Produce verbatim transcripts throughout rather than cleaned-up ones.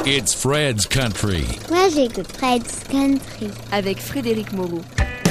It's Fred's Country. Moi, j'écoute Fred's Country. Avec Frédéric Moreau.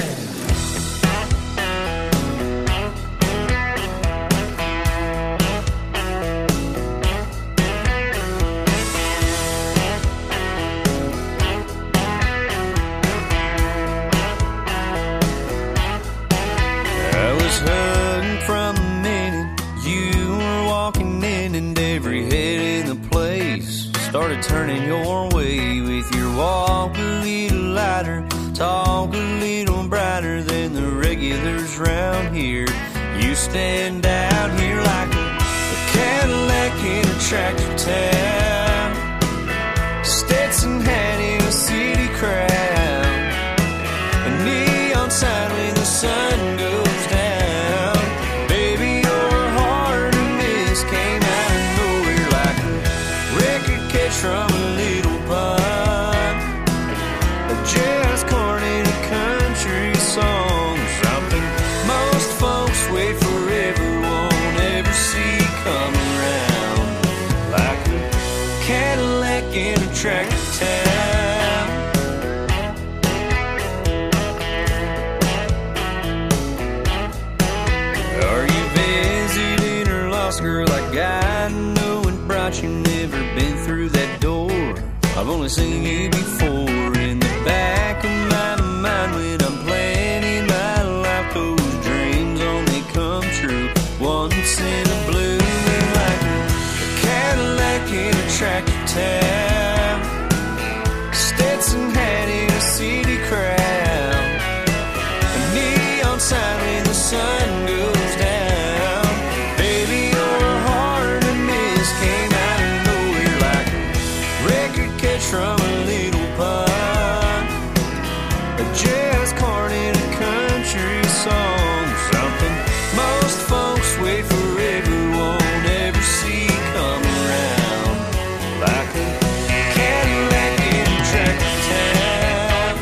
Started turning your way with your walk a little lighter, talk a little brighter than the regulars round here. You stand out here like a, a Cadillac in a tractor town, Stetson hat in a city crowd, a neon sign when the sun goes down. Baby, you're hard to miss, came out of nowhere like a record catch from a little pond, a jazz chord in a country song, something most folks wait forever, won't ever see come around, like a Cadillac in a tractor town. Are you visiting or lost, girl? I got know and brought you, never been through that door. I've only seen you before in the back of my mind when I'm planning my life. Those dreams only come true once in a blue moon, like a, a Cadillac in a tractor town, Stetson hat in a city crowd, a neon sign when the sun goes down. Baby, you're hard to miss, came out of nowhere like a record catch from a little pond, a jazz chord in a country song, something most folks wait forever, won't ever see come around, like a Cadillac in a tractor town.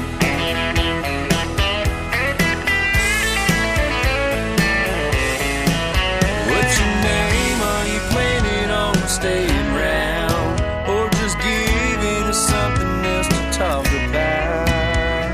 What's your name? Are you planning on staying around, or just giving us something else to talk about?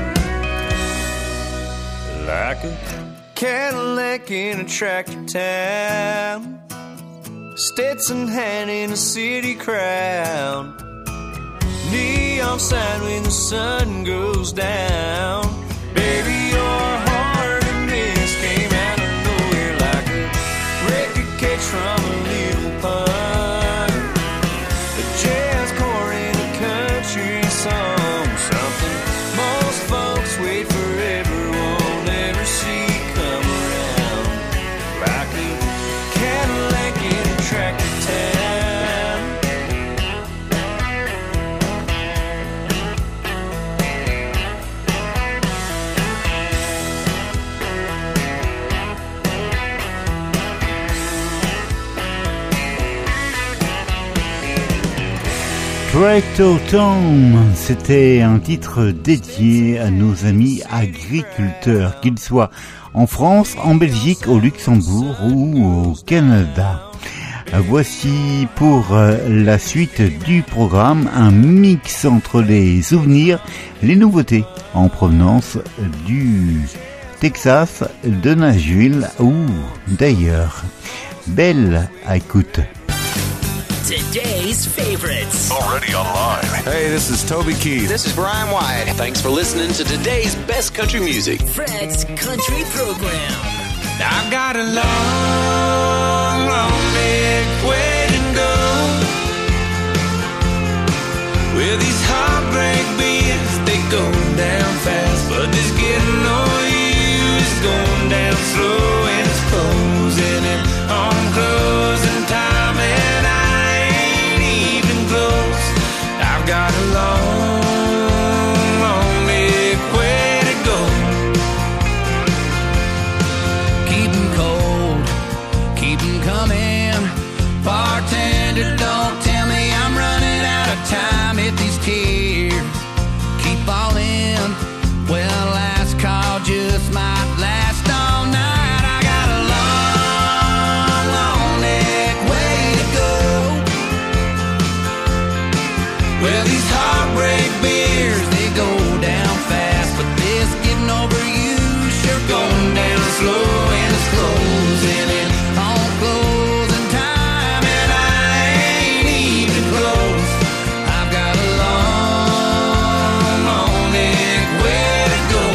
Like a Cadillac in a tractor town, Stetson hat in a city crowd, neon sign when the sun goes down. Baby, you're hard to miss, came out of nowhere like a record catch from a little pond, a jazz chord in a country song, something most folks wait forever, won't ever see come around, like a Cadillac in a tractor town. Tractor Town, c'était un titre dédié à nos amis agriculteurs, qu'ils soient en France, en Belgique, au Luxembourg ou au Canada. Voici pour la suite du programme un mix entre les souvenirs, les nouveautés en provenance du Texas, de Nashville ou d'ailleurs. Belle écoute. Today's favorites. Already online. Hey, this is Toby Keith. This is Brian White. Thanks for listening to today's best country music. Fred's Country Program. I've got a long, long big way to go. Well, these heartbreak beats, they go down fast, but this getting on you is going down slow, and it's closing in on closing time, and I ain't even close. I've got a long, long big way to go. Keep 'em cold, keep 'em coming, far Well, these heartbreak beers, they go down fast, but this getting over you sure going down slow, and it's closing in on closing time, and I ain't even close. I've got a long, long way to go.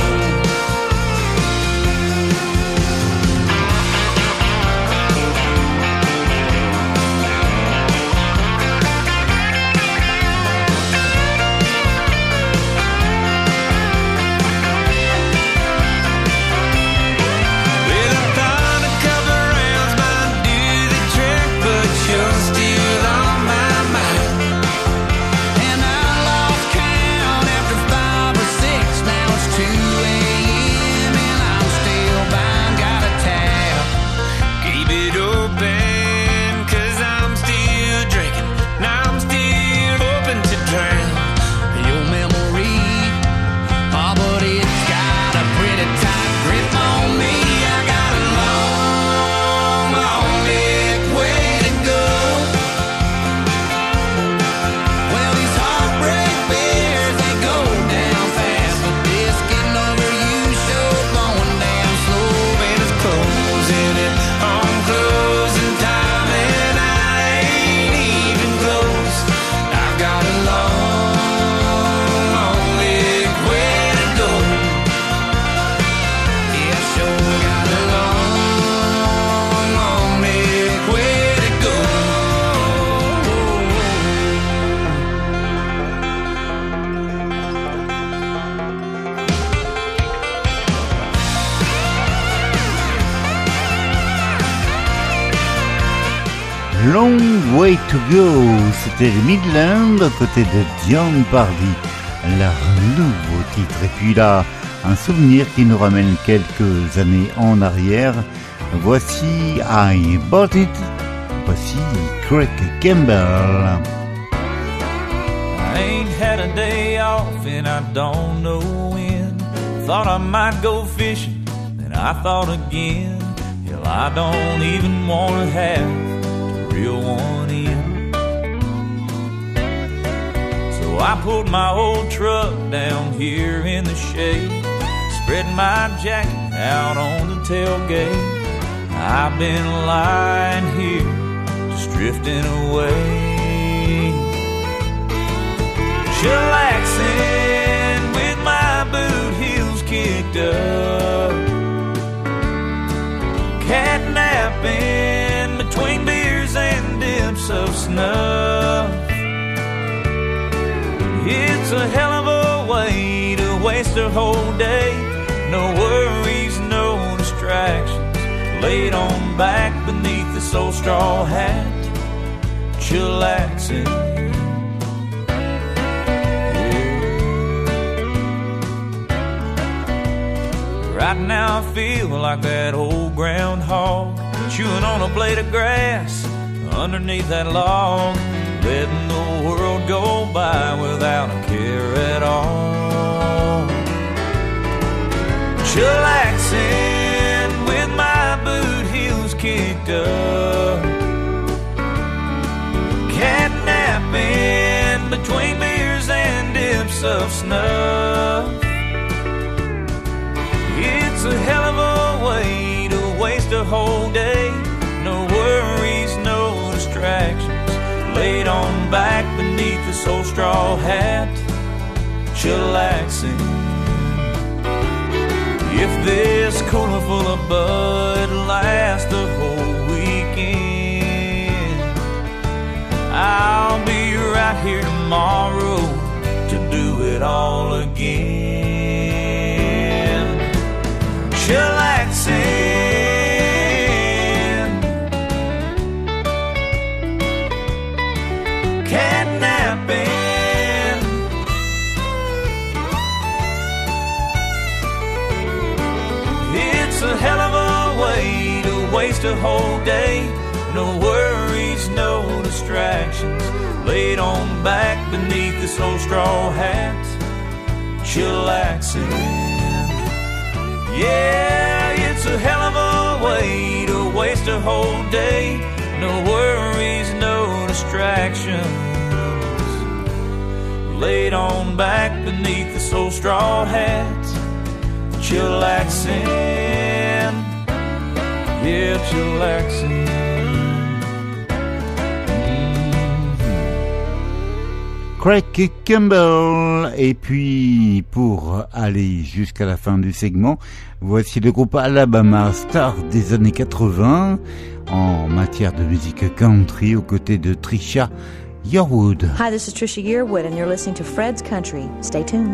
Long Way to Go, c'était les Midlands aux côtés de Dion Pardy, leur nouveau titre. Et puis là, un souvenir qui nous ramène quelques années en arrière. Voici I Bought It, voici Craig Campbell. I ain't had a day off and I don't know when. Thought I might go fishing, then I thought again. Hell, I don't even want to have real one in. So I pulled my old truck down here in the shade, spread my jacket out on the tailgate. I've been lying here, just drifting away, chillaxing with my boot heels kicked up, catnapping between beers and dips of snuff. It's a hell of a way to waste a whole day. No worries, no distractions, laid on back beneath this old straw hat, chillaxing. Right now I feel like that old groundhog, chewing on a blade of grass underneath that log, letting the world go by without a care at all. Chillaxing with my boot heels kicked up, catnapping between beers and dips of snuff. It's a hell of a way to waste a whole day. No worries, no distractions, laid on back beneath this old straw hat, chillaxing. If this cooler full of Bud lasts the whole weekend, I'll be right here tomorrow to do it all again. Chillaxing, catnapping, it's a hell of a way to waste a whole day. No worries, no distractions, laid on back beneath this old straw hat, chillaxing. Yeah, it's a hell of a way to waste a whole day. No worries, no distractions, laid on back beneath the old straw hats, chillaxing, yeah, chillaxing. Craig Campbell. Et puis, pour aller jusqu'à la fin du segment, voici le groupe Alabama, star des années quatre-vingts en matière de musique country aux côtés de Trisha Yearwood. Hi, this is Trisha Yearwood and you're listening to Fred's Country. Stay tuned.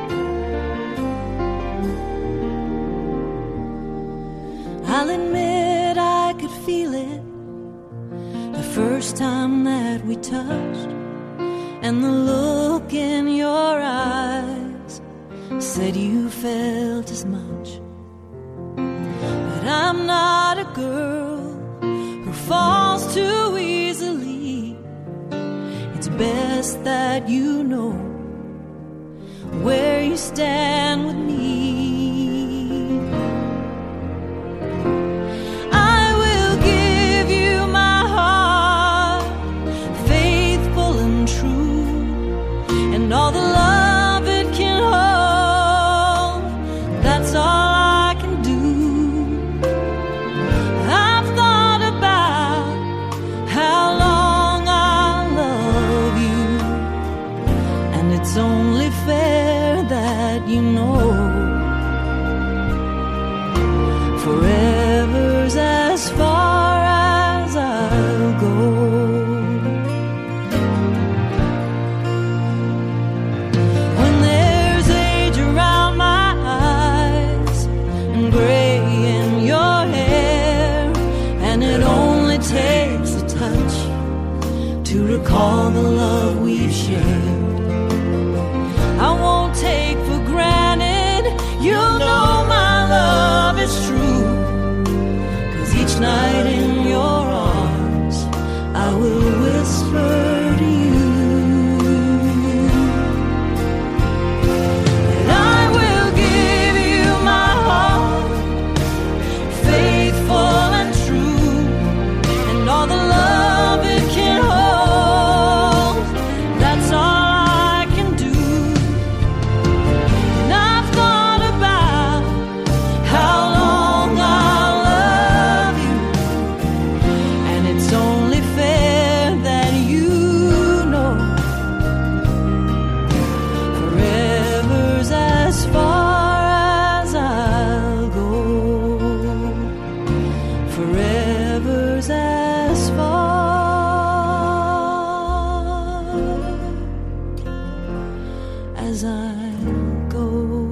I'll admit I could feel it the first time that we touched, and the look in your eyes said you felt as much. But I'm not a girl who falls too easily. It's best that you know where you stand with me. I will give you my heart, faithful and true, and all the love it can hold. That's all I can do. I've thought about how long I love you, and it's only fair that you know forever's as far as I'll go. When there's age around my eyes and gray in your hair, and it only takes a touch to recall the love we've shared, I won't take for granted you'll know my love is true. 'Cause each night in your arms I will whisper to you that I will give you my heart, faithful and true, and all the love it can hold. That's all I can do. And I've thought about how long I'll love you, and it's only fair that you know forever's as far as I'll go. Forever's as far as I'll go.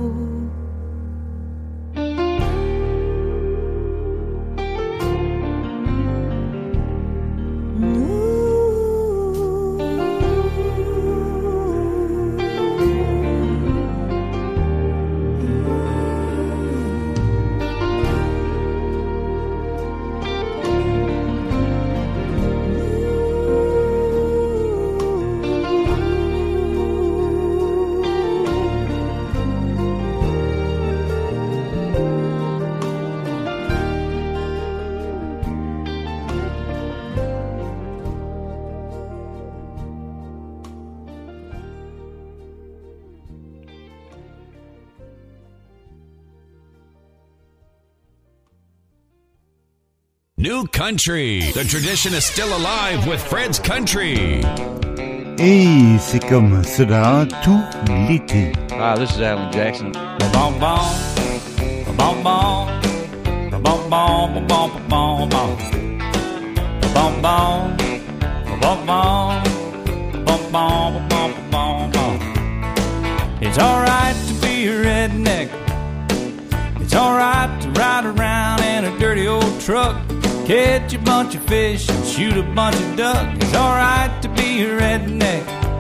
New country. The tradition is still alive with Fred's Country. Et c'est comme cela tout l'été. Hi, this is Alan Jackson. Bom bom, bom bom, bom bom, bom bom, bom bom, bom bom, bom bom, bom bom, bom bom, bom. It's alright to be a redneck. It's alright to ride around in a dirty old truck, catch a bunch of fish and shoot a bunch of duck. It's alright to be a redneck.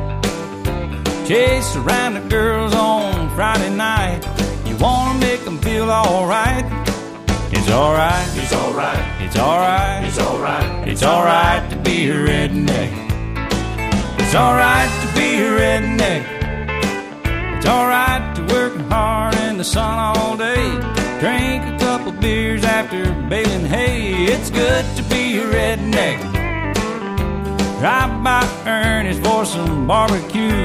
Chase around the girls on Friday night. You wanna make them feel alright. It's alright. It's alright. It's alright. It's alright. It's alright to be a redneck. It's alright to be a redneck. It's alright to work hard in the sun all day. Drink a couple beers after baling hay. It's good to be a redneck. Drive by Ernest for some barbecue.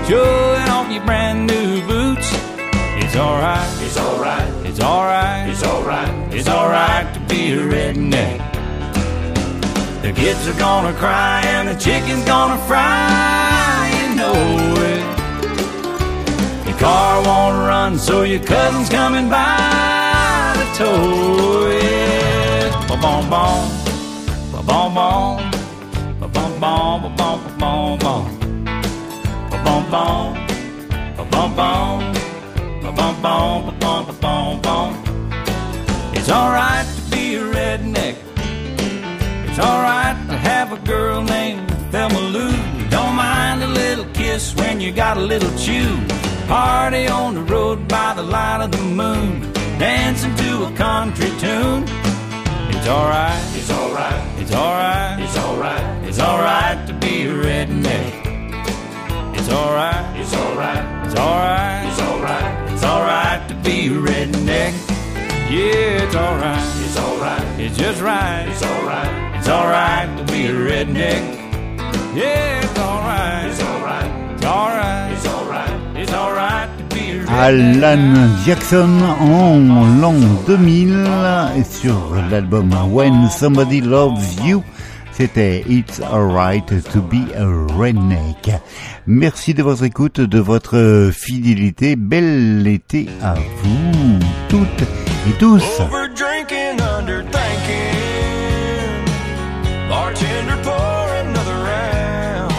showing off your brand new boots. It's alright, It's alright, it's alright, it's alright, it's alright to be a redneck. The kids are gonna cry and the chicken's gonna fry, you know it. Your car won't run, so your cousin's coming by to tow it. Ba-bom-bom, ba-bom-bom, ba-bom-bom, ba-bom-bom, ba-bom-bom, ba-bom-bom, ba-bom-bom, ba-bom-bom. It's alright to be a redneck. It's alright to have a girl named Thelma Lou. Don't mind a little kiss when you got a little chew. Party on the road by the light of the moon, dancing to a country tune. It's alright, it's alright, it's alright, it's alright, it's alright to be a redneck. It's alright, it's alright, it's alright, it's alright, it's alright to be a redneck. Yeah, it's alright, it's alright, it's just right, it's alright, it's alright to be a redneck. Yeah, it's alright, it's alright, it's alright, it's alright, it's alright to be a redneck. Alan Jackson en l'an deux mille sur l'album When Somebody Loves You. C'était It's Alright to be a Redneck. Merci de votre écoute, de votre fidélité. Bel été à vous toutes et tous. Over drinking, under thinking. Bartender, pour another round.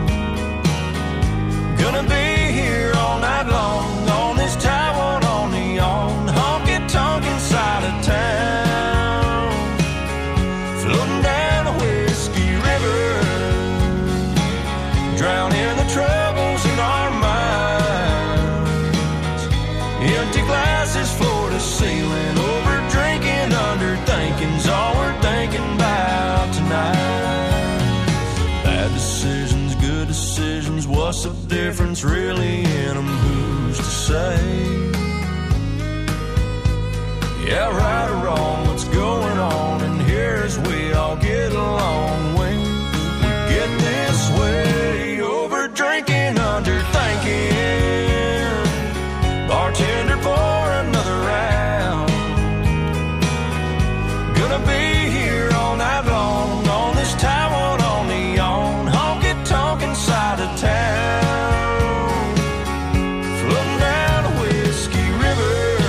Gonna be here all night long on this Taiwan on the on honky tonk inside of town. Floating down a whiskey river, drowning the troubles in our minds. Empty glasses, floor to ceiling. Over drinking, under thinking's all we're thinking about tonight. Bad decisions, good decisions, what's the difference really in them? Who's to say? Yeah, right or wrong, what's going on? And here's we all get along when we get this way. Over drinking, under thinking. Bartender, pour another round. Gonna be here all night long on this Taiwan on the on honky tonk inside of town. Floating down a whiskey river,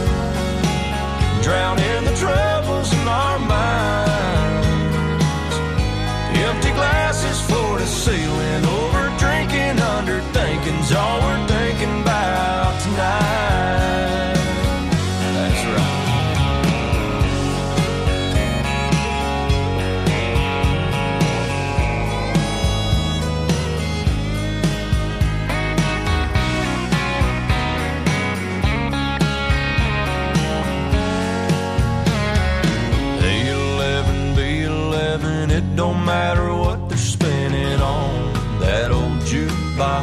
drowning the troubles in our minds. Empty glasses, floor to ceiling. Over drinking, under thinking's all we're thinking about tonight. That's right. A eleven, B eleven, it don't matter what they're spinning on that old jukebox.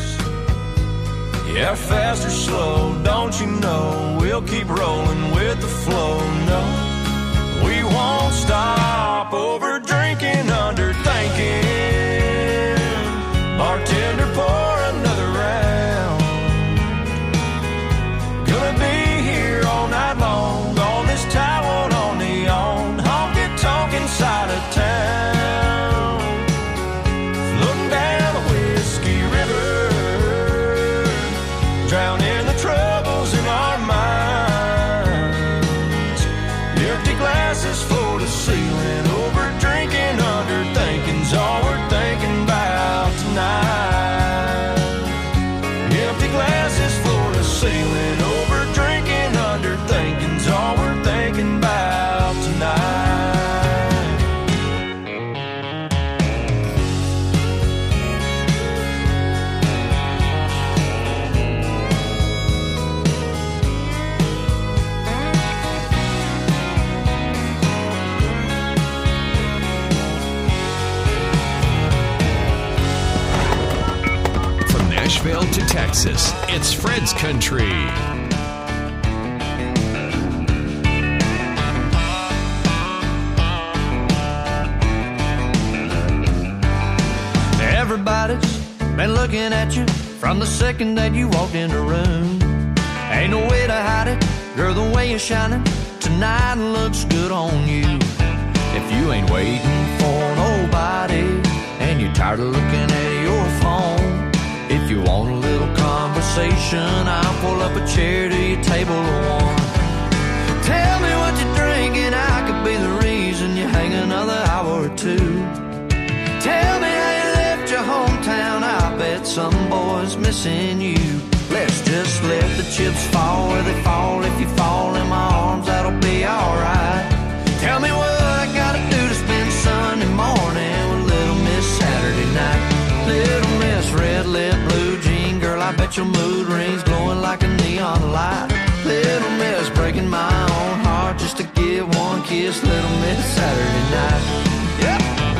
Yeah, fast or slow, don't you know, we'll keep rolling with the flow. No, we won't stop. Over drinking, under thinking. Bartender, pour another round. Gonna be here all night long on this Taiwan on the on honky tonk inside of town. Floating down a whiskey river, drowning the troubles in our minds. Empty glasses, floor to ceiling. Over drinking, under thinking's all we're thinking about tonight. Empty glasses, floor to ceiling. Over drinking, under thinking's all we're thinking about tonight. From Nashville to Texas, it's Fred's Country. Everybody's been looking at you from the second that you walked in the room. Ain't no way to hide it, girl, the way you're shining tonight looks good on you. If you ain't waiting for nobody and you're tired of looking at your phone, if you want a little conversation, I'll pull up a chair to your table of one. Tell me what you're drinking, I could be the reason you hang another hour or two. Tell me how you left your hometown, I bet some boy's missing you. Let's just let the chips fall where they fall. If you fall in my arms, that'll be alright. Tell me what I gotta do to spend Sunday morning with Little Miss Saturday night. Little Miss red lip, blue jean, girl, I bet your mood rings glowing like a neon light. Little Miss breaking my own heart just to give one kiss. Little Miss Saturday night. Yep.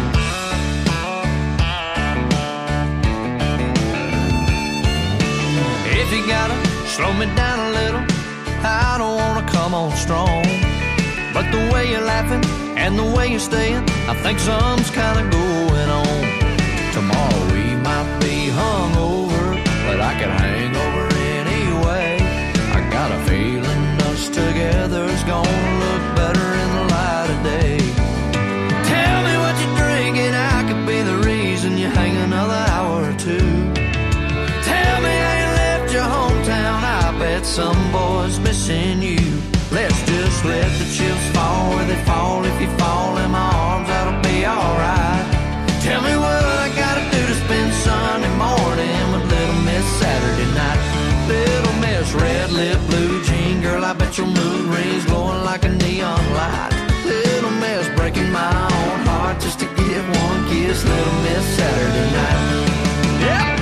If you gotta slow me down a little, I don't wanna come on strong, but the way you're laughing and the way you're staying, I think something's kinda going on. Tomorrow we might be hungover, but I could hang over anyway. I got a feeling us together's gonna look better in the light of day. Tell me what you're drinking, I could be the reason you hang another hour or two. Tell me how you left your hometown, I bet some boy's missing you. Let's just let the chips fall where they fall. If you fall in my arms, that'll be alright. Tell me what I gotta do to spend Sunday morning with Little Miss Saturday night. Little Miss red lip, blue jean, girl, I bet your mood rings glowing like a neon light. Little Miss breaking my own heart just to give one kiss. Little Miss Saturday night. Yep.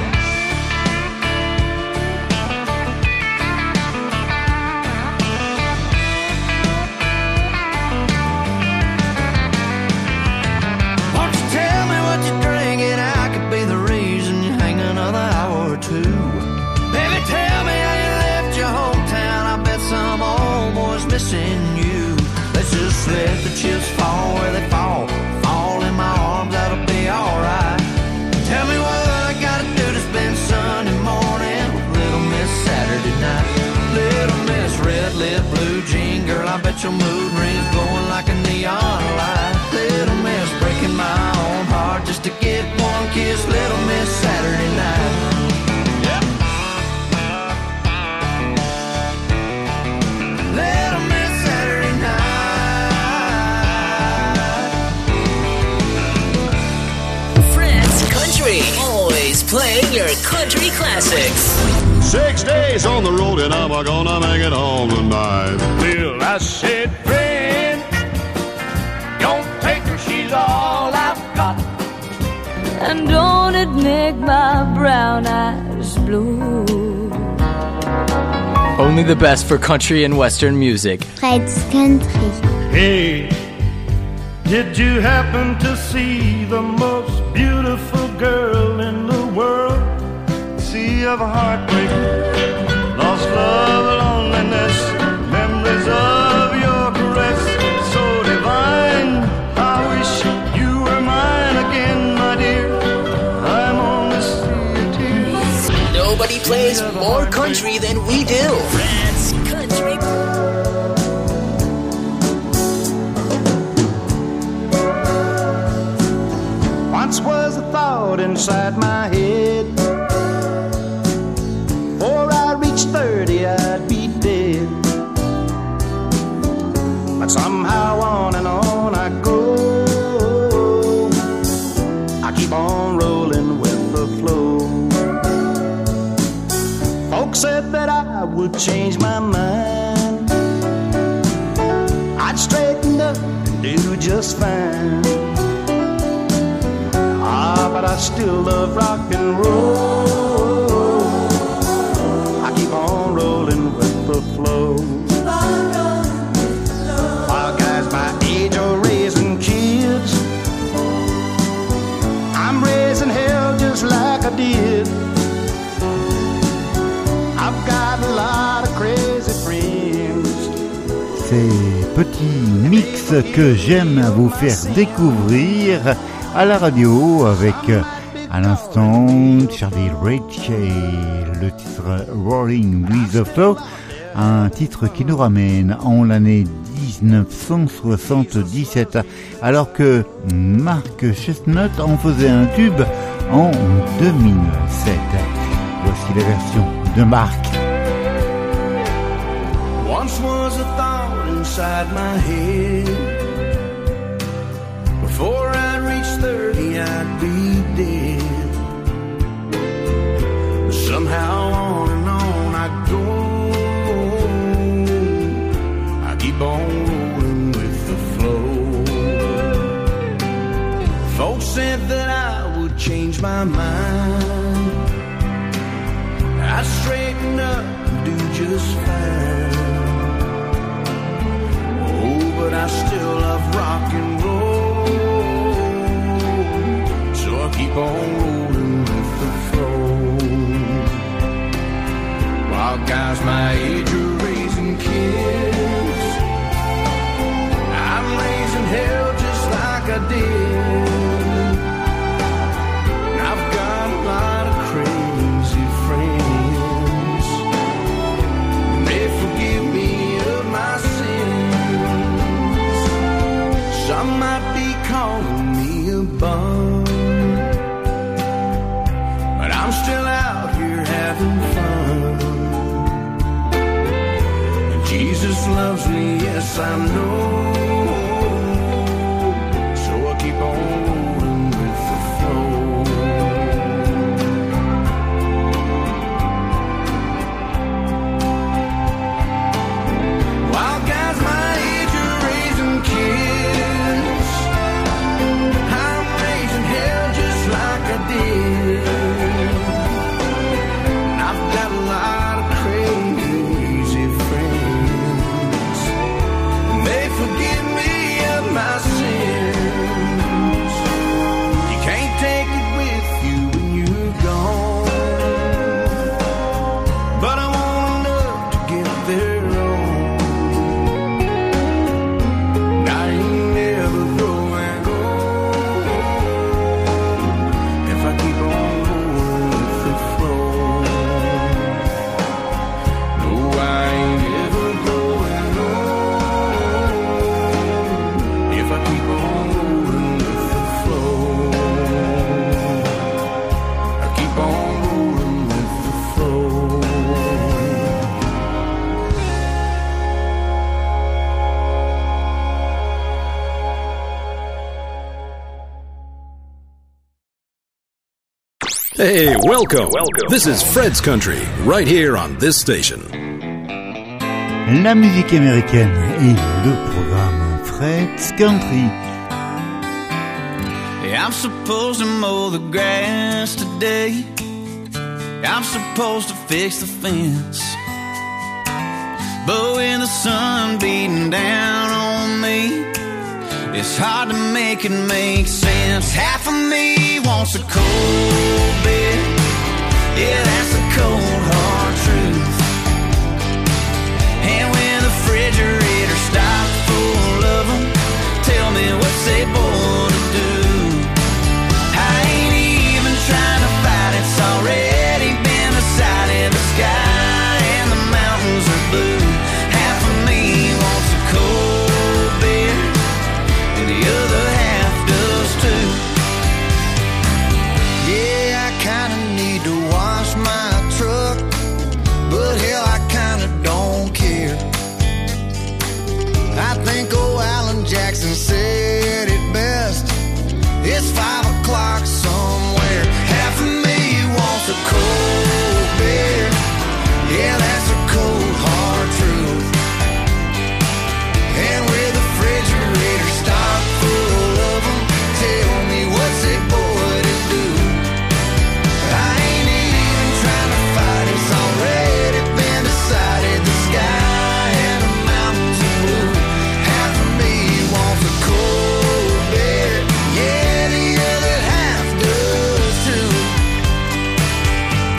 Missing you. Let's just let the chips fall where they fall. Fall in my arms, that'll be alright. Tell me what I gotta do to spend Sunday morning with Little Miss Saturday night. Little Miss red lip, blue jean, girl, I bet your mood rings glowing like a neon light. Little Miss breaking my own heart just to get one kiss. Little Miss Saturday night. Yep. Little Miss Saturday night. Fred's Country, always playing your country classics. Six days on the road and I'm gonna make it home tonight. Well, I said, friend, don't take her, she's all I've got. And don't it make my brown eyes blue? Only the best for country and western music. Fred's Country. Hey, did you happen to see the most beautiful girl in the world? Sea of heartbreak, lost love, loneliness, memories of your caress, so divine. I wish you were mine again, my dear. I'm on the sea of tears. Nobody plays more country than we do. Fred's Country. Once was a thought inside my head, before I reached thirty I'd be dead. But somehow on and on I go, I keep on rolling with the flow. Folks said that I would change my mind, I'd straighten up and do just fine. Ah, but I still love rock and roll, I keep on rolling with the flow. While guys my age are raising kids, I'm raising hell just like I did. I've got a lot of crazy friends. Ces petits mix que j'aime vous faire découvrir à la radio avec À l'instant, Charlie Rich et le titre Rolling with the Flow, un titre qui nous ramène en l'année dix-neuf cent soixante-dix-sept, alors que Mark Chestnut en faisait un tube en deux mille sept. Voici la version de Mark. Once was a thought inside my head. Before I'd reach thirty, I'd be dead. But somehow on and on I go. I keep on rolling with the flow. Folks said that I would change my mind. I'd straighten up and do just fine. Oh, but I still love rock and roll. So I keep on rolling with the flow. While guys my age are raising kids, I'm raising hell just like I did. And I've got a lot of crazy friends, and they forgive me of my sins. Some might be calling me a bum, but I'm still out here having fun. And Jesus loves me, yes I know. So I keep on rolling with the flow. While guys my age are raising kids, I'm raising hell just like I did. And I've got a lot of crazy friends, and they forgive me of my sins. You can't take it with you when you're gone, but I want enough to get there on. And I ain't never growing old if I keep on rolling with the flow. No, I ain't ever growing old if I keep on rolling with the flow. I keep on rolling with the flow. Hey, welcome. Welcome. This is Fred's Country, right here on this station. La musique américaine et le programme Fred's Country. Hey, I'm supposed to mow the grass today. I'm supposed to fix the fence. But when the sun beating down on me, it's hard to make it make sense. Half of me wants a cold beer. Yeah, that's the cold hard truth. And when the refrigerator stocked full of them, tell me what's they born to do. I ain't even trying to fight, it's already been decided. The sky and the mountains are blue. Half of me wants a cold beer, and the other half does too. Yeah, I kinda need to wash my truck, but hell, I kinda don't care. I think old Alan Jackson said it best. It's five o'clock somewhere. Half of me wants a cold beer. Yeah, that's a cold hard truth. And with the refrigerator stocked full of them, tell me what's it boy to do. I ain't even trying to fight, it's already been decided. The sky and the mountains are blue. Half of me wants a cold beer. Yeah, the other half does too.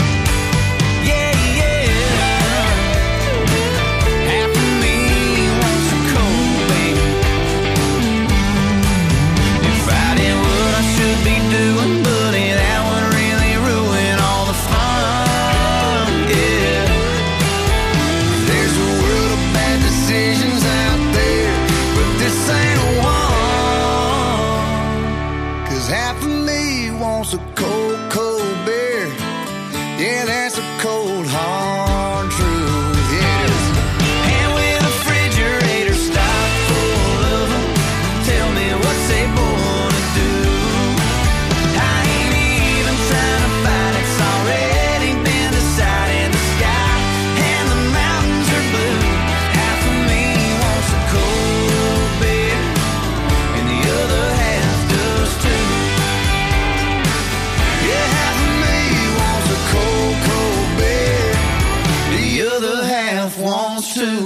wants to.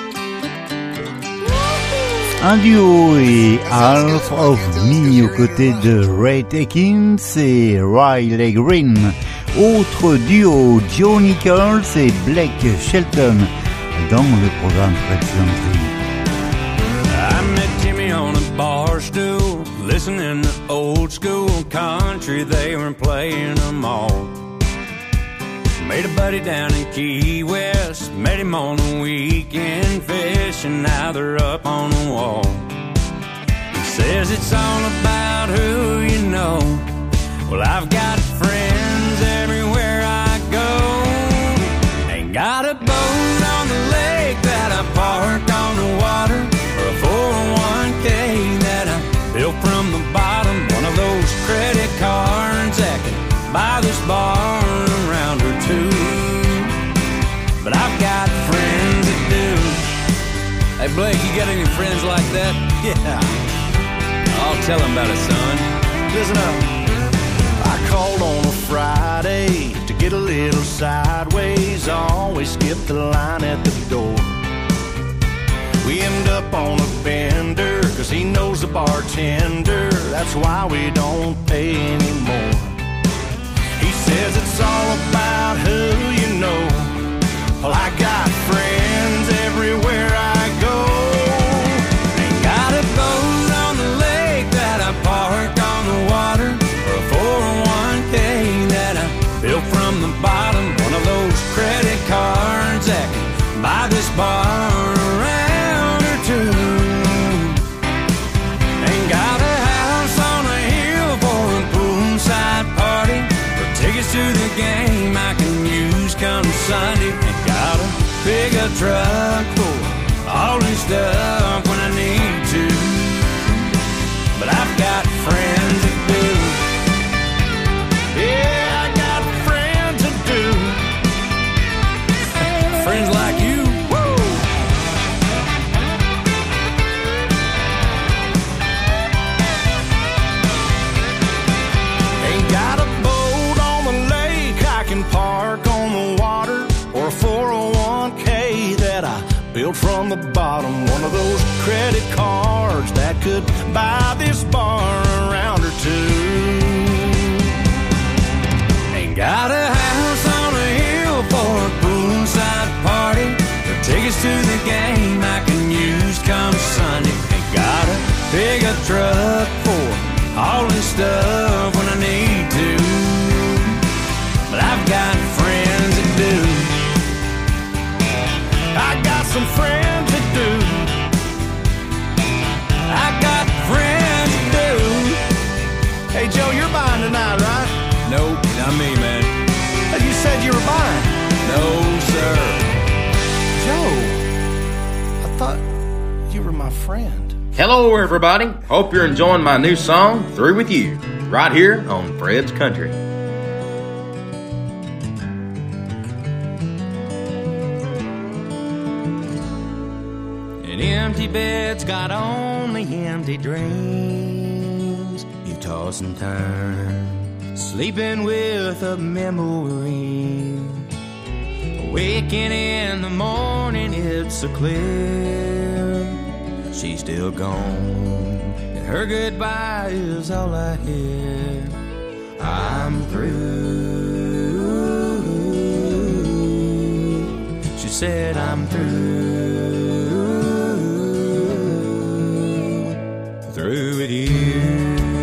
Un duo et Half of Me aux côtés de Ray Atkins et Riley Green. Autre duo, Joe Nichols et Blake Shelton dans le programme Fred's Country. I met Jimmy on a bar stool, listening to old school country. They were playing them all. Made a buddy down in Key West, met him on the weekend fishing. Now they're up on the wall. He says it's all about who you know. Well, I've got friends everywhere I go. Ain't got a boat on the lake that I park on the water, or a four oh one k that I built from the bottom. One of those credit cards that can buy this bar around or two. But I've got friends that do. Hey Blake, you got any friends like that? Yeah, I'll tell them about it, son. Listen up. I called on a Friday to get a little sideways. I always skip the line at the door. We end up on a bender, cause he knows the bartender. That's why we don't pay anymore. He says it's all about who you know. Well, I got friends everywhere I go. Ain't got a boat on the lake that I park on the water, or a four oh one k that I built from the bottom. One of those credit cards that can buy this bar around or two. Ain't got a house on a hill for a poolside party, or tickets to the game I can use come Sunday. Ain't got a pickup truck for all this stuff when I need to. But I've got friends that do. Yeah, I got friends that do. Friends like you. Woo! Ain't got a boat on the lake I can park on the water, or a four oh one k that I built from the bottom. One of those credit cards that could buy this bar around or two. Ain't got a house on a hill for a poolside party, or tickets to the game I can use come Sunday. Ain't got a pickup truck for all this stuff when I need to. But I've got friends that do. I got some friends that do. I got friends that do. Hey Joe, you're buying tonight, right? Nope, not me, man. You said you were buying. No, sir. Joe, I thought you were my friend. Hello, everybody. Hope you're enjoying my new song, Through With You, right here on Fred's Country. An empty bed's got only empty dreams. You toss and turn, sleeping with a memory. Waking in the morning, it's so clear she's still gone, and her goodbye is all I hear. I'm through. She said I'm through. Through with you.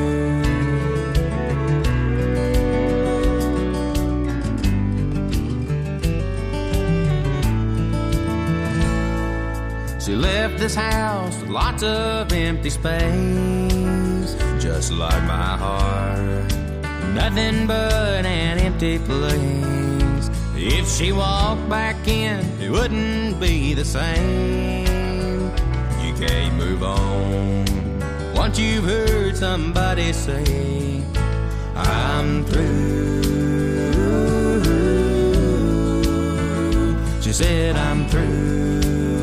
She left this house with lots of empty space, just like my heart, nothing but an empty place. If she walked back in, it wouldn't be the same. You can't move on once you've heard somebody say, I'm through. She said, I'm through.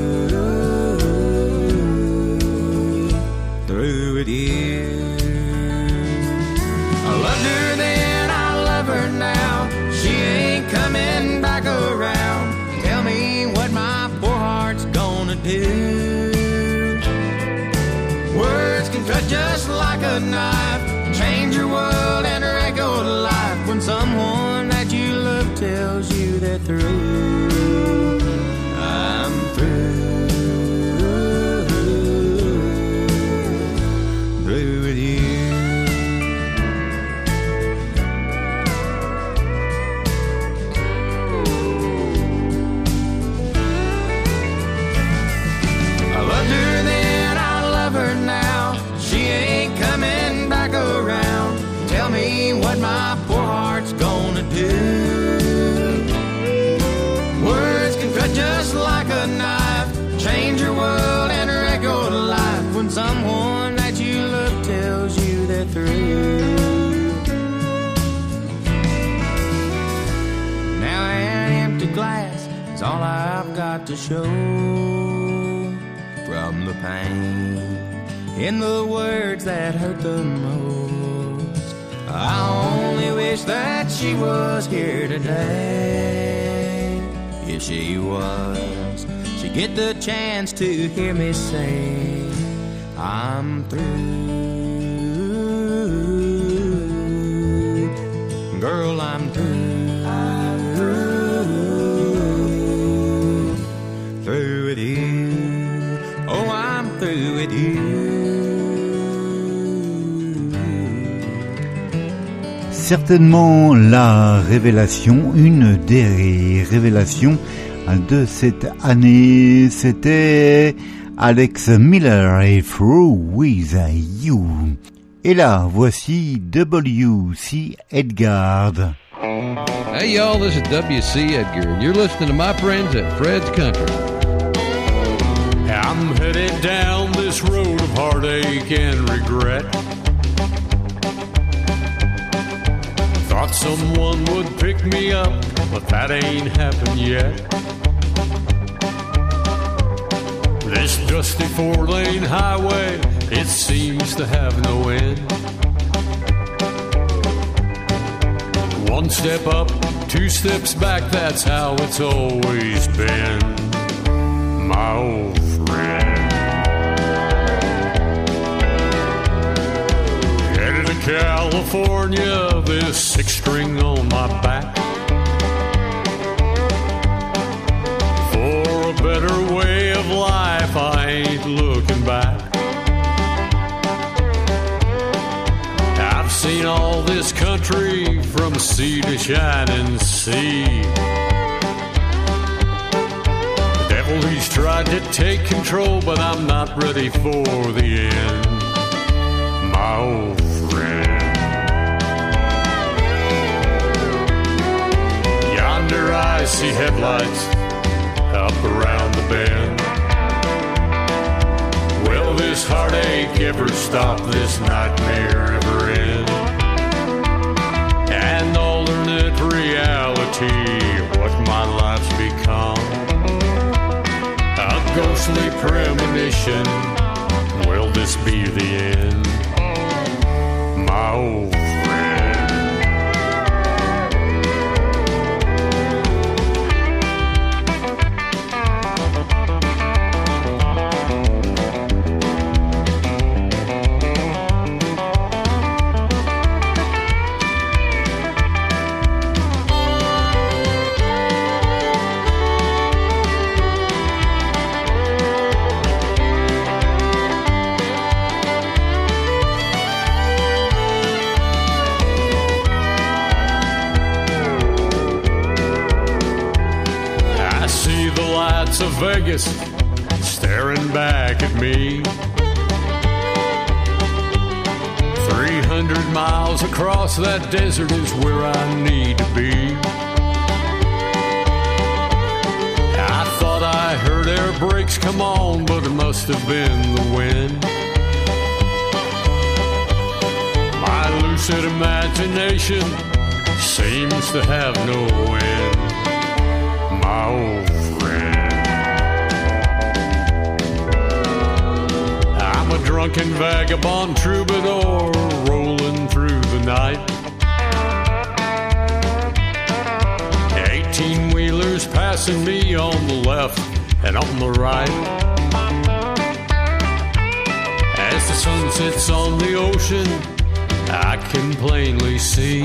Through with you. I loved her then, I love her now. She ain't coming back around. Tell me what my poor heart do. Words can cut just like a knife, change your world and echo to life when someone that you love tells you they're through. I'm through, through with you. I loved her then, I love her now. She ain't coming back around. Tell me what my poor heart's gonna do. Words can cut just like a knife, change your world and echo to life when someone that you love tells you they're through. Now an empty glass is all I've got to show from the pain in the words that hurt the most. I only wish that she was here today. If she was, she'd get the chance to hear me say I'm through. Girl, I'm through. I'm through. Through with you. Oh, I'm through with you. Certainement la révélation, une des révélations de cette année, c'était Alex Miller et Through With You. Et là, voici W C Edgar. Hey y'all, this is W C Edgar, and you're listening to my friends at Fred's Country. I'm headed down this road of heartache and regret. Thought someone would pick me up, but that ain't happened yet. This dusty four-lane highway, it seems to have no end. One step up, two steps back, that's how it's always been, my old friend. Headed to California, this six string on my back, for a better way of life, I ain't looking back. I've seen all this country from sea to shining sea. The devil, he's tried to take control, but I'm not ready for the end, my old friend. Yonder I see headlights up around the bend. Will this heartache ever stop, this nightmare ever end? An alternate reality, what my life's become, a ghostly premonition, will this be the end, my old friend? Of Vegas staring back at me, three hundred miles across that desert is where I need to be. I thought I heard air brakes come on, but it must have been the wind. My lucid imagination seems to have no end, my old friend. I'm a drunken vagabond troubadour rolling through the night. Eighteen-wheelers passing me on the left and on the right. As the sun sets on the ocean, I can plainly see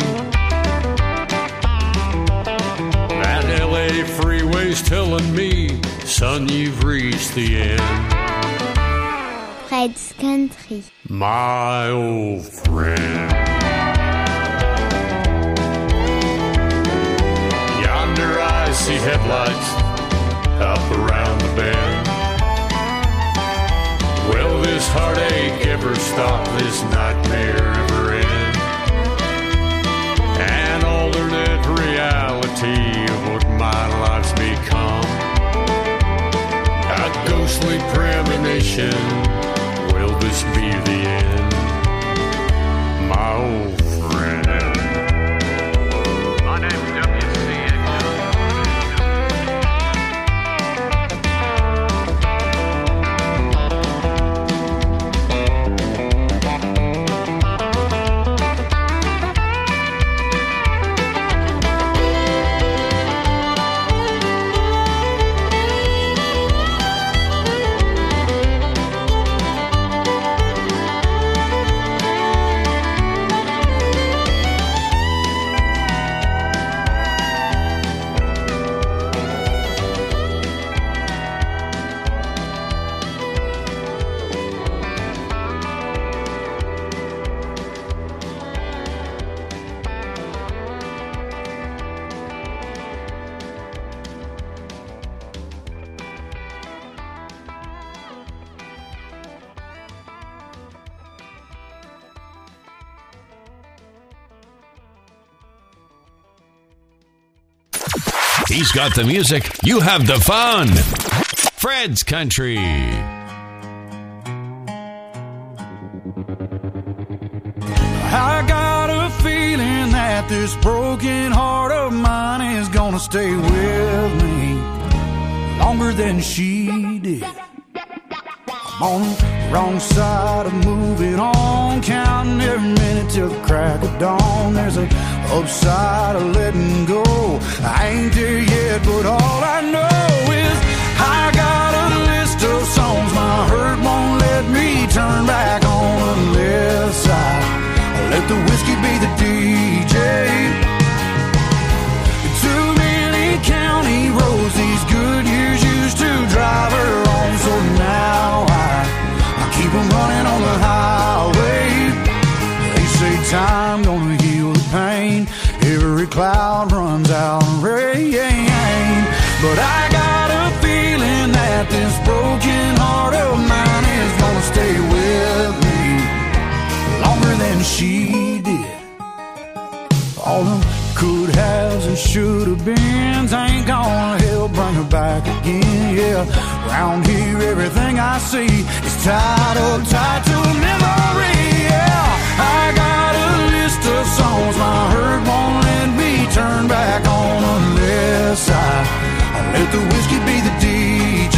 that L A freeway's telling me, son, you've reached the end. Fred's Country. My old friend. Yonder I see headlights up around the bend. Will this heartache ever stop, this nightmare ever end? An alternate reality of what my life's become, a ghostly premonition. Will this be the end? My old friend. My name's W C He's got the music. You have the fun. Fred's Country. I got a feeling that this broken heart of mine is gonna stay with me longer than she did. I'm on the wrong side of moving on, counting every minute till the crack of dawn. There's a upside of letting go. I ain't there yet, but all I know is I got a list of songs my hurt won't let me turn back on the left side. Let the whiskey be the D J. Too many county roads these good years used to drive her on, so now I, I keep on running on the highway. They say time gonna heal the pain, every cloud runs out in rain. But I got a feeling that this broken heart of mine is gonna stay with me longer than she did. All the could haves and should have beens ain't gonna help bring her back again. Yeah, round here everything I see is tied up tied to a memory. Yeah, I got a list of songs my hurt won't let me turn back on the left side. I let the whiskey be the D J.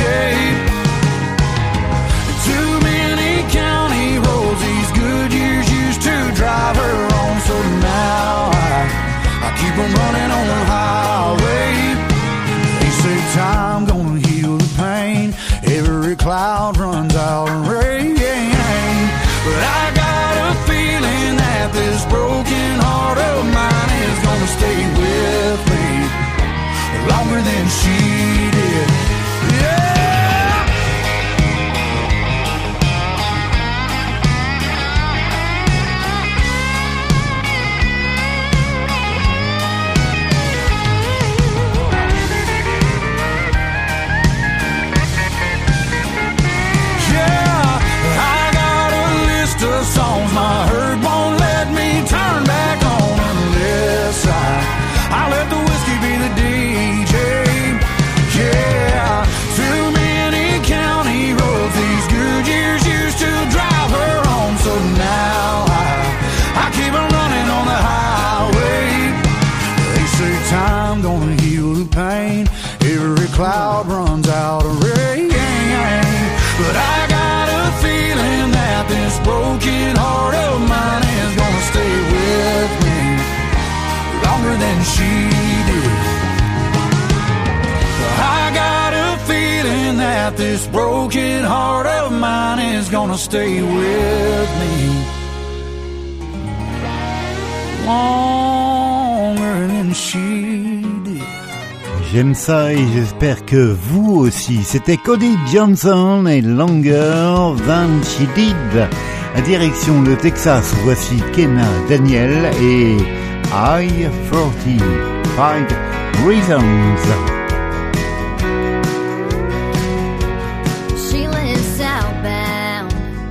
Too many county roads these good years used to drive her on, so now I, I keep on running on the highway. They say time gonna heal the pain, every cloud runs out in rain. But I got a feeling that this broken heart of mine is gonna stay with me longer than she did. Yeah. Songs my hurt won't let me turn back on the left side. I let the whiskey be the D J. Yeah, too many county roads these good years used to drive her on, so now I, I keep on running on the highway. They say time gonna heal the pain, every cloud runs out of rain. But I got a feeling that this broken heart of mine is gonna stay with me longer than she did. I got a feeling that this broken heart of mine is gonna stay with me longer than she did. J'aime ça et j'espère que vous aussi. C'était Cody Johnson et Longer Than She Did. À direction le Texas, voici Kenna Daniel et I forty-five Reasons. She lives southbound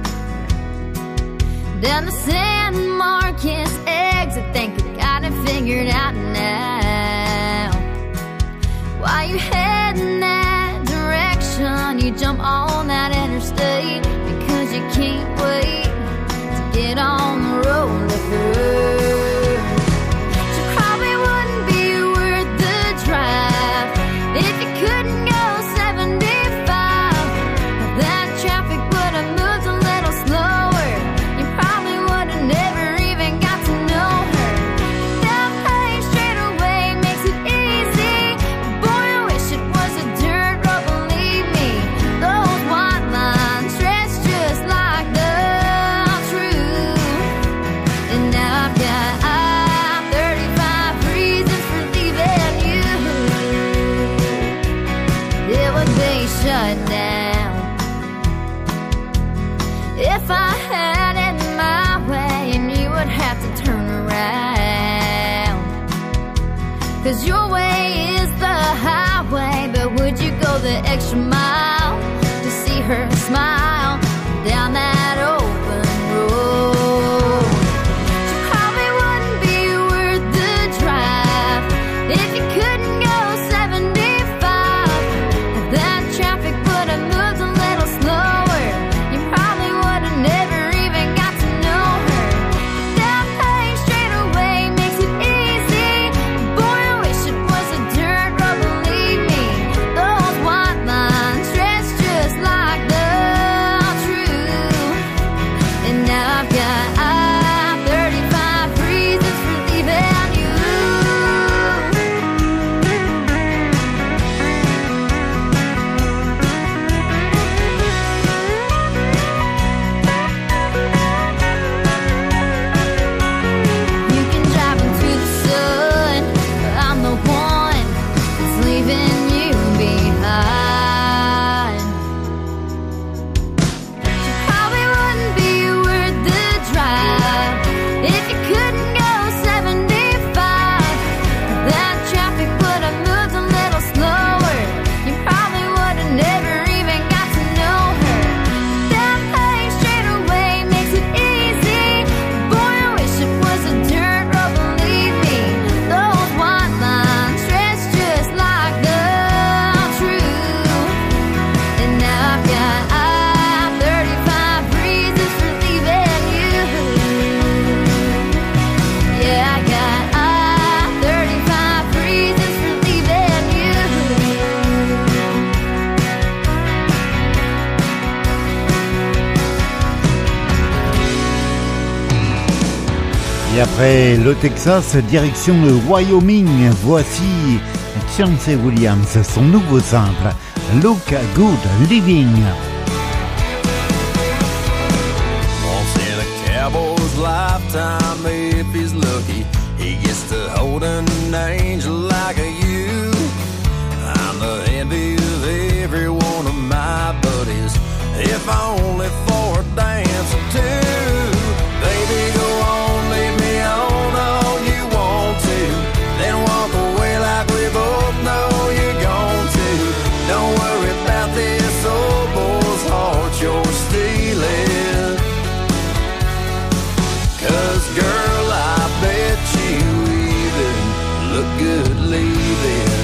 down the San Marcos exit. Think I got it figured out now. Why you head in that direction? You jump on that interstate because you can't wait to get on the road with her. She probably wouldn't be worth the drive if you couldn't go seventy-five. That traffic would have moved a little slower. You probably would have never even got to know her. That paying straight away makes it easy. Boy, I wish it was a dirt road, believe me. Those white lines stretch just like the truth. And now I've got I thirty-five reasons for leaving you. It would be shut down if I had it my way, and you would have to turn around. Cause your way is the highway, but would you go the extra mile to see her smile down that open road? She probably wouldn't be worth the drive if you couldn't go seventy-five. If that traffic would have moved a little slower, you probably would have never even got to know her. That paying straight away makes it easy. Boy, I wish it was a dirt road, believe me. Those white lines stretch just like the truth. And now I've got I thirty-five reasons for leaving you. You can drive into the sun, but I'm the one that's leaving you behind. She probably wouldn't be worth the drive if you couldn't go seventy-five. That traffic would have moved a little slower. You probably would have never even got to know her. That paying straight away makes it easy. Boy, I wish it was a dirt road, believe me. Those white lines stretch just like the truth. And now I've got I thirty-five reasons for leaving you. Yeah, I got I thirty-five reasons for leaving you. Et après le Texas, direction le Wyoming, voici Chauncey Williams, son nouveau simple, Look Good Living. Once in a cowboy's lifetime, if he's lucky, he gets to hold an angel like you. I'm the envy of every one of my buddies, if only for a dance or two. Baby, go on, leave me on all you want to, then walk away like we both know you're going to. Don't worry about this old boy's heart you're stealing, 'cause girl, I bet you even look good leaving.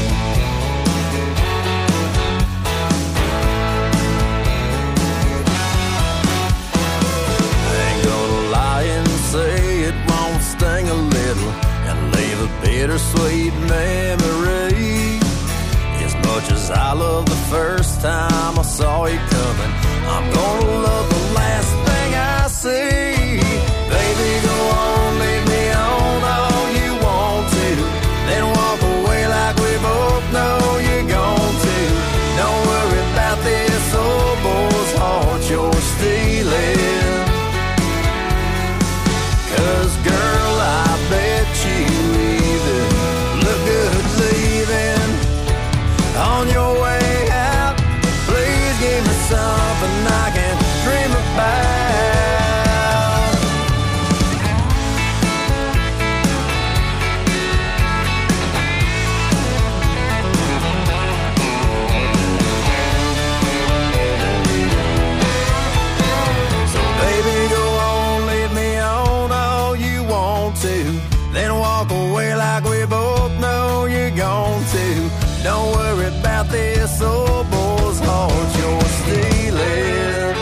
Ain't gonna lie and say it won't sting a little and leave a bittersweet memory. As much as I love the first time I saw you coming, I'm gonna love the last thing I see. Baby, go on, leave me on all you want to, then walk away like we both know you're going to. Don't worry about this on your way out, please give me something I can dream about. So baby, go on, lead me on all you want to, then walk away like we both know you're going to. Don't worry about this old boy's heart you're stealing,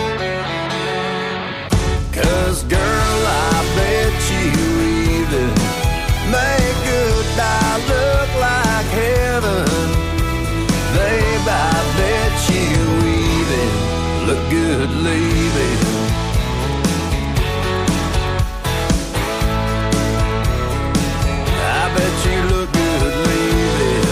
'cause girl, I bet you even make goodbye look like heaven. Babe, I bet you even look good leaving. I bet you look good leaving.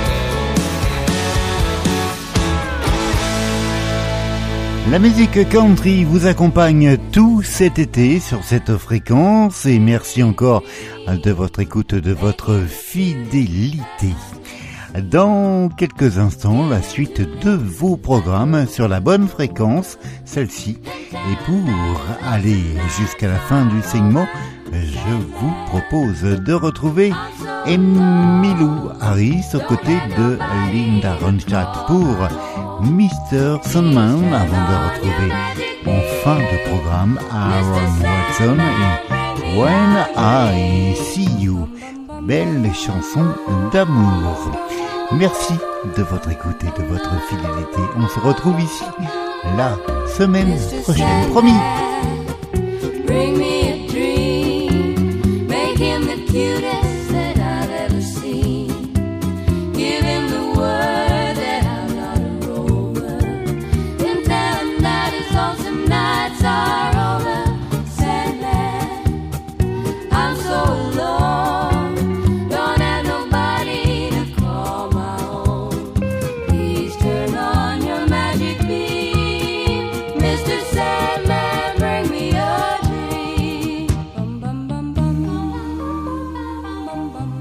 La musique country vous accompagne tout cet été sur cette fréquence et merci encore de votre écoute, de votre fidélité. Dans quelques instants, la suite de vos programmes sur la bonne fréquence, celle-ci. Et pour aller jusqu'à la fin du segment, je vous propose de retrouver Emmylou Harris aux côtés de Linda Ronstadt pour mister Sandman, avant de retrouver en fin de programme Aaron Watson et When I See You. Belle chanson d'amour. Merci de votre écoute et de votre fidélité. On se retrouve ici la semaine prochaine, promis. Bring me a dream, make him the cutest that I've ever seen. Give him the word that I'm not a rover, and tell him that his lonesome nights are over. Sandman, I'm so alone, don't have nobody to call my own. Please turn on your magic beam, Mister Sandman, bring me a dream. Bum, bum, bum, bum, bum, bum, bum,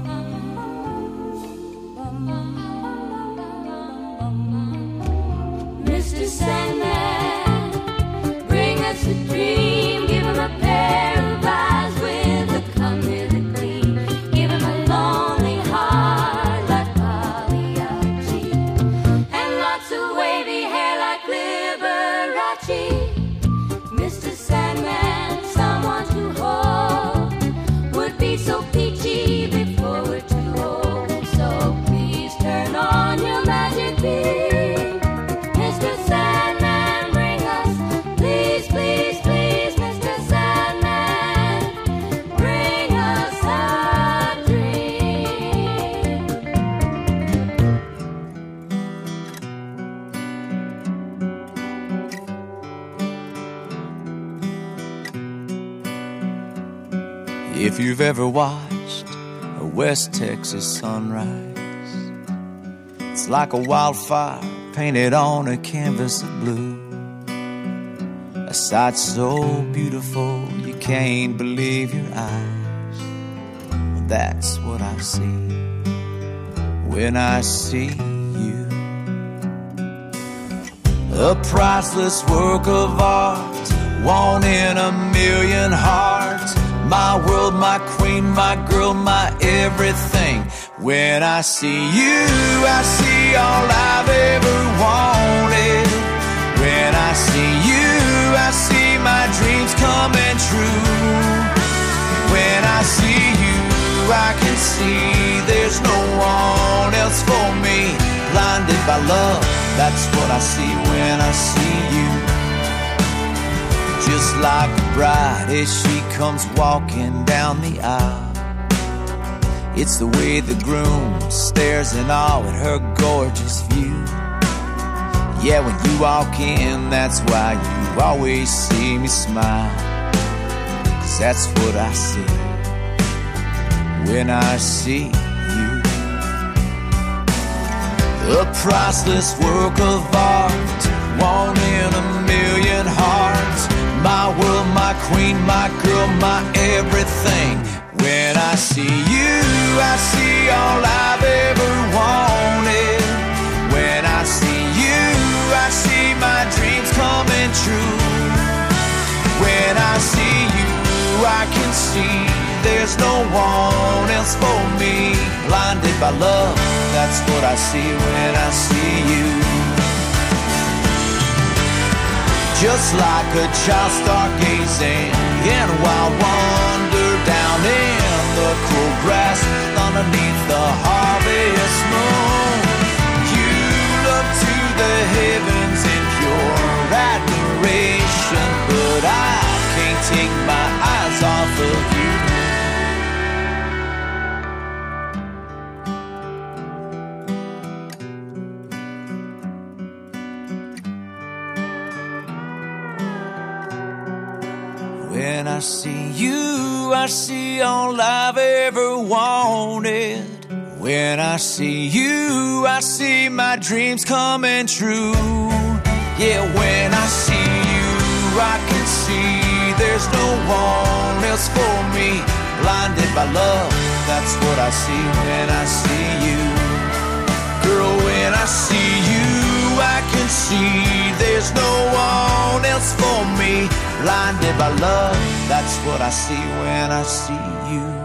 bum, bum. Mister Sandman, bring us a dream. Give him a pair of eyes with a come with a gleam. Give him a lonely heart like Pagliacci, and lots of wavy hair like Liberace. Mister Sandman, someone to hold would be so peachy before we're too old. So please turn on your magic beam, Mister Sandman, bring us, please, please, please, Mister Sandman, bring us a dream. If you've ever watched a West Texas sunrise, it's like a wildfire painted on a canvas of blue. A sight so beautiful you can't believe your eyes. Well, that's what I see when I see you. A priceless work of art, one in a million hearts. My world, my queen, my girl, my everything. When I see you, I see all I've ever wanted. When I see you, I see my dreams coming true. When I see you, I can see there's no one else for me. Blinded by love, that's what I see when I see you. Just like a bride as she comes walking down the aisle, it's the way the groom stares in awe at her gorgeous view. Yeah, when you walk in, that's why you always see me smile, 'cause that's what I see when I see you. A priceless work of art, one in a million hearts. My world, my queen, my girl, my everything. When I see you, I see all I've ever wanted. When see there's no one else for me. Blinded by love, that's what I see when I see you. Just like a child stargazing in a wild wonder down in the cool grass underneath the harvest moon. You look to the heavens in pure admiration, but I can't take my eyes off of you. When I see you, I see all I've ever wanted. When I see you, I see my dreams coming true. Yeah, when I see you, I can see there's no one else for me. Blinded by love, that's what I see when I see you. Girl, when I see you, I can see there's no one else for me. Blinded by love, that's what I see when I see you.